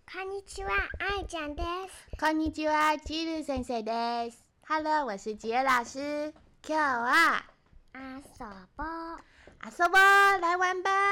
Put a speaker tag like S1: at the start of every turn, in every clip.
S1: こんにちは、愛ちゃんです。
S2: こんにちは、ジル先生です。Hello， 我是吉爾老師。今日は
S1: 遊ぼう。
S2: 遊ぼう，來玩吧。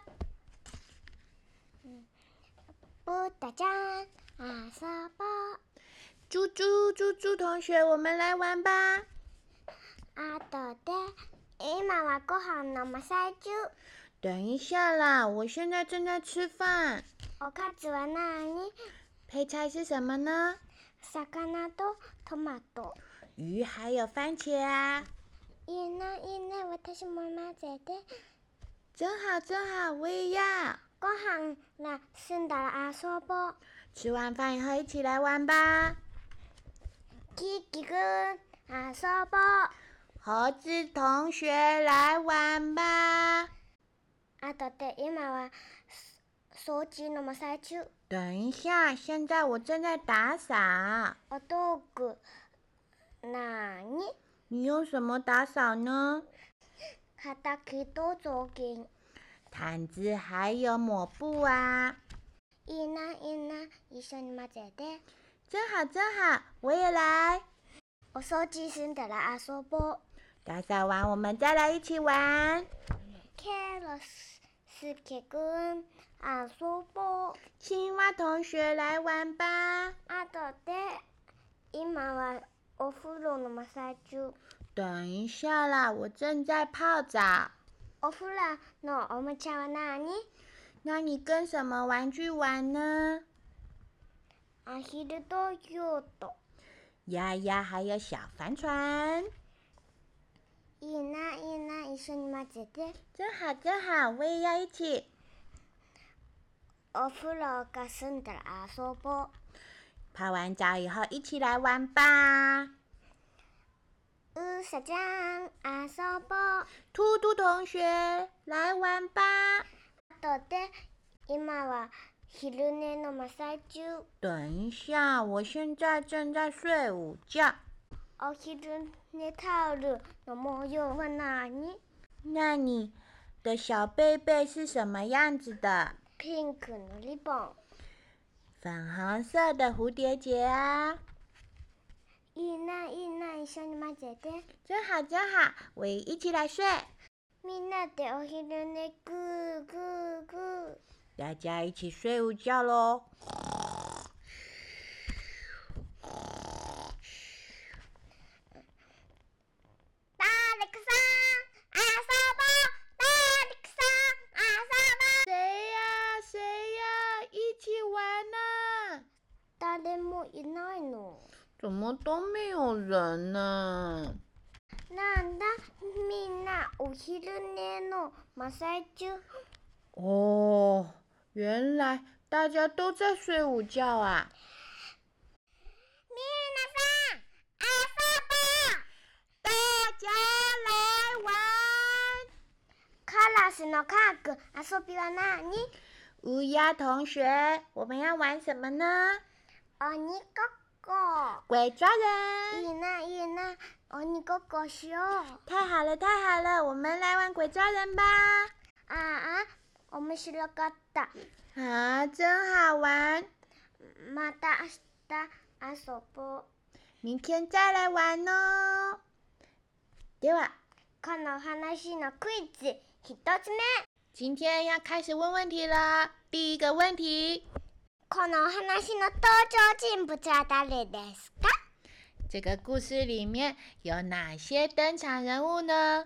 S1: 布大家遊ぼう。
S2: 豬豬同學，我們來玩吧。
S1: 後で、今はご飯の真っ最中。
S2: 等一下啦，我現在正在吃飯。
S1: おかずは何？
S2: 配菜是什麼呢？
S1: 魚とトマト。
S2: 魚還有番茄啊。
S1: いいね、いいね、私も混ぜて。
S2: 真好真好，我也要。
S1: ご飯が済んだら遊ぼう。
S2: 吃完飯以後一起來玩吧。
S1: キキくん、遊ぼう。
S2: 猴子同學來玩吧。
S1: 後で、今は掃除の真っ最中。
S2: 等一下，現在我正在打掃。
S1: お道具何？
S2: 你用什麼打掃呢？
S1: 畑と雑巾。
S2: 毯子還有抹布啊。
S1: いいな、いいな、一緒に混ぜて。
S2: 真好真好，我也來。
S1: お掃除済んだら遊ぼう。
S2: 打掃完我們再來一起玩。
S1: ケロスケくん、遊ぼう。
S2: 青蛙同學來玩吧。
S1: 後で、今はお風呂の真っ最中。
S2: 等一下啦，我正在泡澡。
S1: お風呂のおもちゃは何？
S2: 那你跟什麼玩具玩呢？
S1: アヒルとヨット。
S2: 鴨鴨還有小帆船。
S1: いいな、いいな、一緒に混ぜて。
S2: 真好真好，我也要一起。
S1: お風呂が済んだら遊ぼう。
S2: 泡完澡以後一起來玩吧。
S1: うさちゃん、遊ぼう。
S2: 兔兔同學來玩吧。
S1: 後で、今は昼寝の真っ最中。
S2: 等一下，我現在正在睡午覺。
S1: お昼寝タオルの模様は何？
S2: 那你的小被被是什麼樣子的？
S1: ピンクのリボン。
S2: 粉紅色的蝴蝶結啊。
S1: いいな、いいな、一緒に混ぜて。
S2: 真好真好，我也一起來睡。
S1: みんなでお昼寝グーグーグー。
S2: 大家一起睡午覺咯。
S1: 大力さん、遊ぼう。大力さん、遊ぼう。
S2: 誰呀？誰呀？一起玩啊！
S1: 誰もいないの。
S2: 怎麼都沒有人呢？
S1: なんだ、みんなお昼寝の真っ最中。
S2: 哦，原來大家都在睡午覺啊！
S1: みなさん、遊ぼう。
S2: 大家來玩。
S1: カラスの科學、遊びは何？
S2: 烏鴉同學，我們要玩什麼呢？
S1: 鬼ごっこ。
S2: 鬼抓人。
S1: いいな、いいな、鬼ごっこしよう。
S2: 太好了太好了，我們來玩鬼抓人吧。
S1: ああ、面白かった。
S2: 啊，真好玩。
S1: また明日遊ぼう。
S2: 明天再來玩哦。では、
S1: この話のクイズ一つ目。
S2: 今天要開始問問題了。第一個問題。
S1: この話の登場人物は誰ですか？
S2: 這個故事裡面有哪些登場人物呢？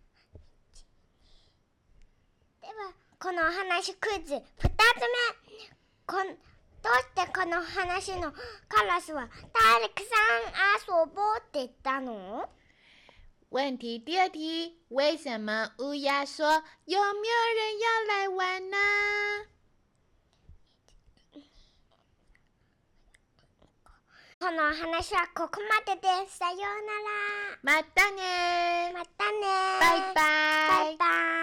S1: では、この話クイズ2つ目。どうしてこの話のカラスは大力さん遊ぼうって言ったの？
S2: 問題第二題，為什麼烏鴉說有沒有人要來玩呢？
S1: この話はここまでです。さようなら。
S2: またね。
S1: またね。
S2: バイバイ。
S1: バイバイ。